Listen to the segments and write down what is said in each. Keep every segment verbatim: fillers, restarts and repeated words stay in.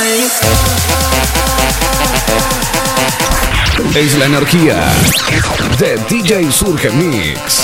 Es la energía de D J Surge Mix.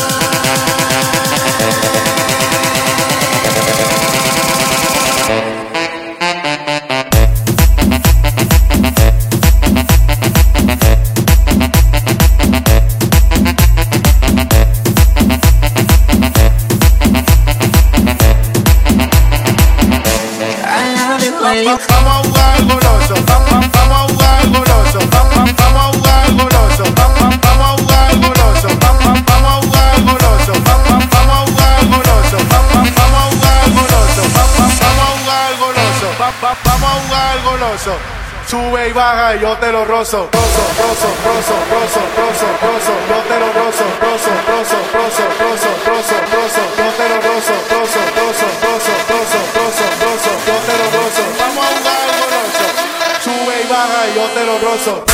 Vamos a jugar goloso, vamos a jugar goloso, vamos a jugar goloso, vamos a jugar goloso, vamos a jugar goloso, vamos a jugar goloso, vamos a jugar goloso, vamos a jugar goloso, vamos a jugar goloso. Sube y baja y yo te lo rozo, rozo, rozo, rozo, rozo, rozo, rozo, yo te lo rozo, rozo, rozo, rozo, rozo, rozo, rozo, yo te lo rozo, rozo, rozo, rozo, rozo, rozo, rozo, yo te lo rozo. Vamos a jugar goloso. Sube y baja y yo te lo rozo.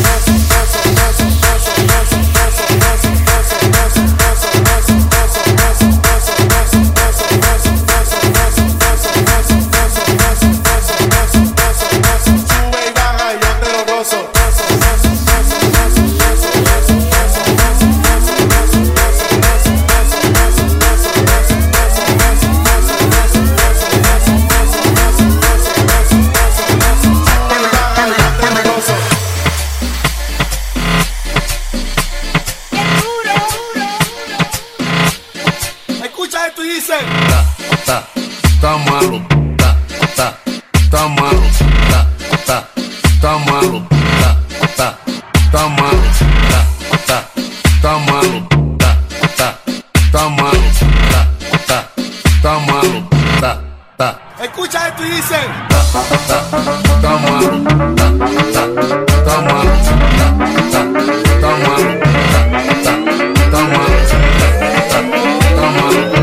Tá malo, tá, tá, tá malo, tá, tá, tá malo, tá, tá, tá malo, tá, tá, tá malo, tá, tá, tá malo, tá, tá, tá malo, tá, tá. Escucha esto y dice, tá, tá, tá malo, tá, tá, tá malo, tá, tá, tá malo, tá, tá, tá malo, tá, tá, tá malo.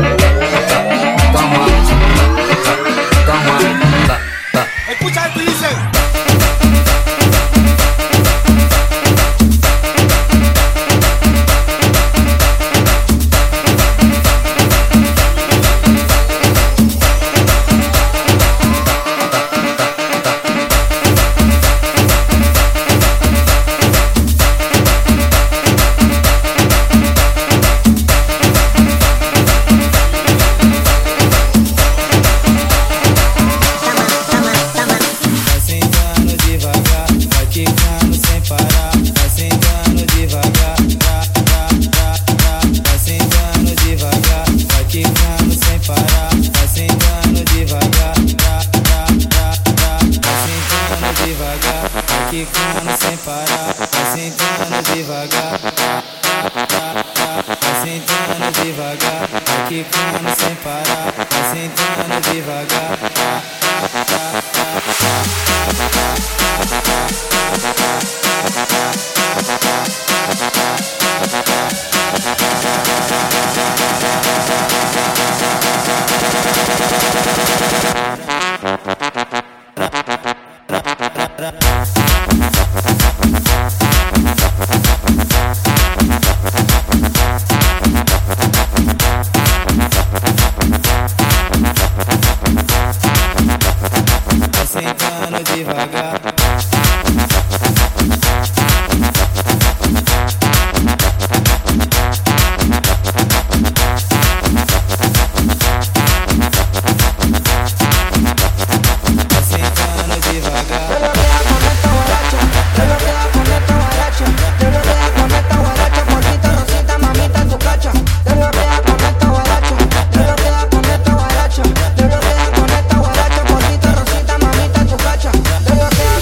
escucha esto y dice. quicando sem parar, vai sentando devagar, vai sentando devagar, vai quicando sem parar, vai sentando devagar. Te bloquea con esta guaracha, poquito rosita, mamita, tu cacha. Te bloquea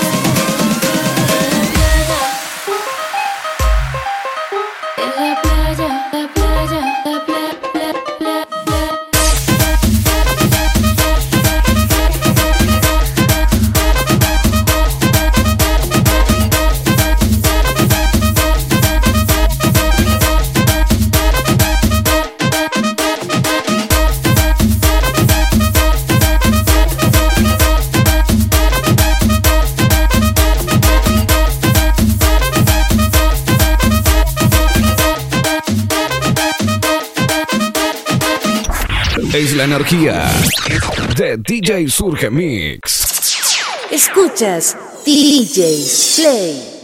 Es la energía de D J Surge Mix. Escuchas D J Play.